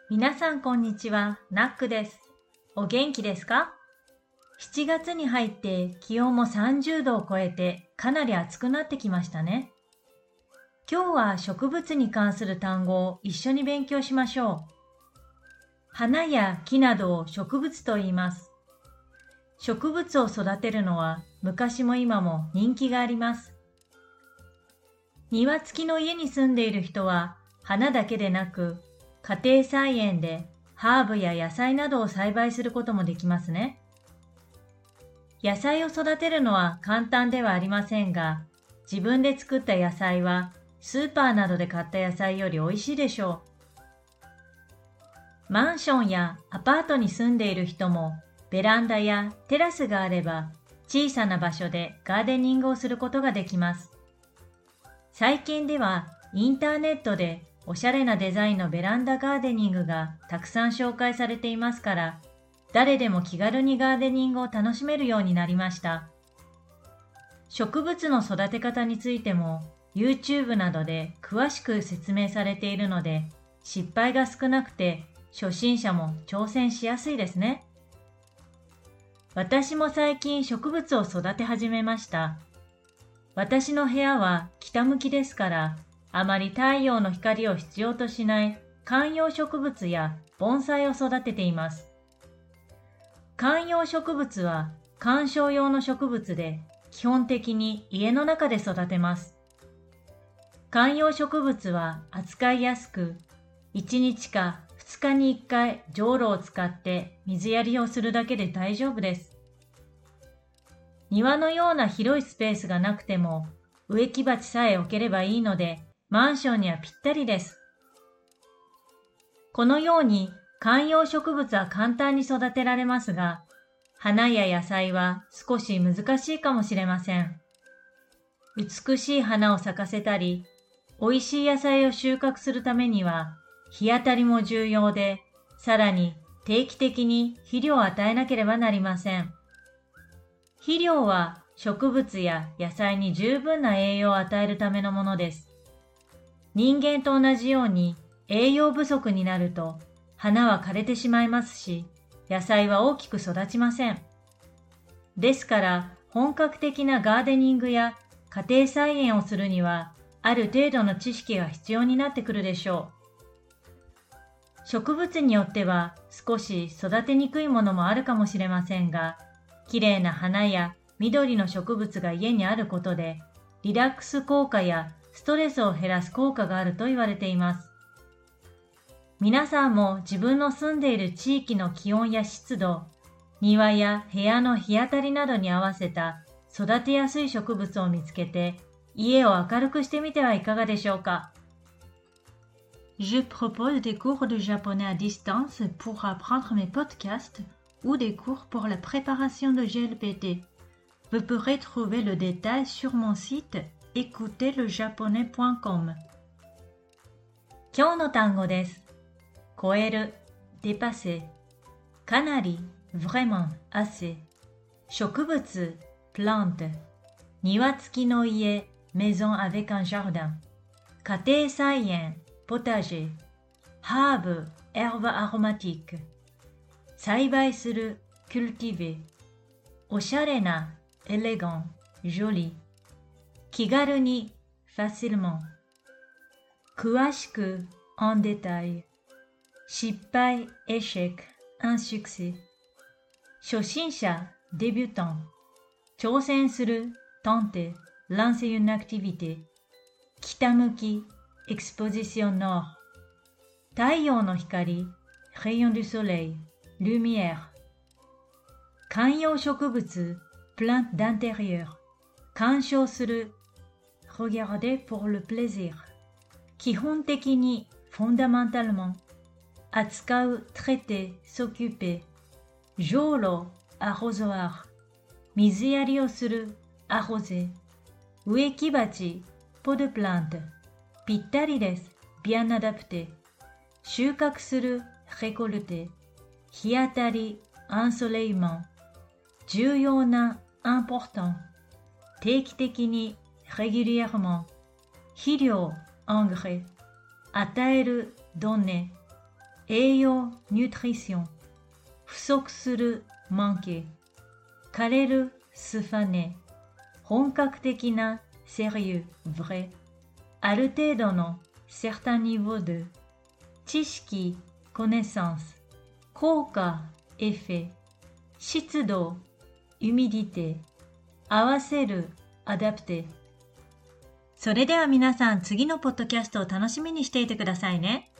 皆さんこんにちは、ナックです。お元気ですか？ 7 月に入って気温も30度を超えてかなり暑くなってきましたね。今日は植物に関する単語を一緒に勉強しましょう。花や木などを植物と言います。植物を育てるのは昔も今も人気があります。庭付きの家に住んでいる人は花だけでなく家庭菜園でハーブや野菜などを栽培することもできますね。野菜を育てるのは簡単ではありませんが、自分で作った野菜はスーパーなどで買った野菜より美味しいでしょう。マンションやアパートに住んでいる人もベランダやテラスがあれば小さな場所でガーデニングをすることができます。最近ではインターネットでおしゃれなデザインのベランダガーデニングがたくさん紹介されていますから、誰でも気軽にガーデニングを楽しめるようになりました。植物の育て方についても YouTube などで詳しく説明されているので、失敗が少なくて初心者も挑戦しやすいですね。私も最近植物を育て始めました。私の部屋は北向きですから、あまり太陽の光を必要としない観葉植物や盆栽を育てています。観葉植物は観賞用の植物で基本的に家の中で育てます。観葉植物は扱いやすく、1日か2日に1回じょうろを使って水やりをするだけで大丈夫です。庭のような広いスペースがなくても植木鉢さえ置ければいいので、マンションにはぴったりです。このように観葉植物は簡単に育てられますが、花や野菜は少し難しいかもしれません。美しい花を咲かせたり、美味しい野菜を収穫するためには、日当たりも重要で、さらに定期的に肥料を与えなければなりません。肥料は植物や野菜に十分な栄養を与えるためのものです。人間と同じように栄養不足になると花は枯れてしまいますし、野菜は大きく育ちません。ですから本格的なガーデニングや家庭菜園をするにはある程度の知識が必要になってくるでしょう。植物によっては少し育てにくいものもあるかもしれませんが、綺麗な花や緑の植物が家にあることでリラックス効果やストレスを減らす効果があると言われています。皆さんも自分の住んでいる地域の気温や湿度、庭や部屋の日当たりなどに合わせた育てやすい植物を見つけて家を明るくしてみてはいかがでしょうか。Je propose des cours de japonais à distance pour apprendre mes podcasts ou des cours pour la préparation de GLPT. Vous pourrez trouver le détail sur mon site écouterlejaponais.com。 今日の単語です。超える、dépasser、かなり、vraiment、assez、植物、plante、庭付きの家、maison avec un jardin、家庭菜園、potager、ハーブ、herbe aromatique、栽培する、cultiver、おしゃれな、élégant、joli、気軽に、facilement、詳しく、en détail、失敗、échec、insuccès、初心者、débutant、挑戦する、tenter、lancer une activité、北向き、exposition nord、太陽の光、rayon du soleil、lumière、観葉植物、plante d'intérieur、鑑賞する、regarder pour le plaisir、基本的に、fondamentalement、扱う、traiter、s'occuper、じょうろ、arrosoir、水やりをする、arroser、植木鉢、pot de plante、ぴったりです、bien adapté、収穫する、récolter、日当たり、ensoleillement、重要な、important、定期的に、régulièrement、肥料、engrais、与える、donner、 栄養 nutrition 不足する manquer 枯れる se faner 本格的な sérieux vrai ある程度の certain niveau de 知識 connaissance 効果 effet 湿度 humidité 合わせる adapter。 それでは皆さん、次のポッドキャストを楽しみにしていてくださいね。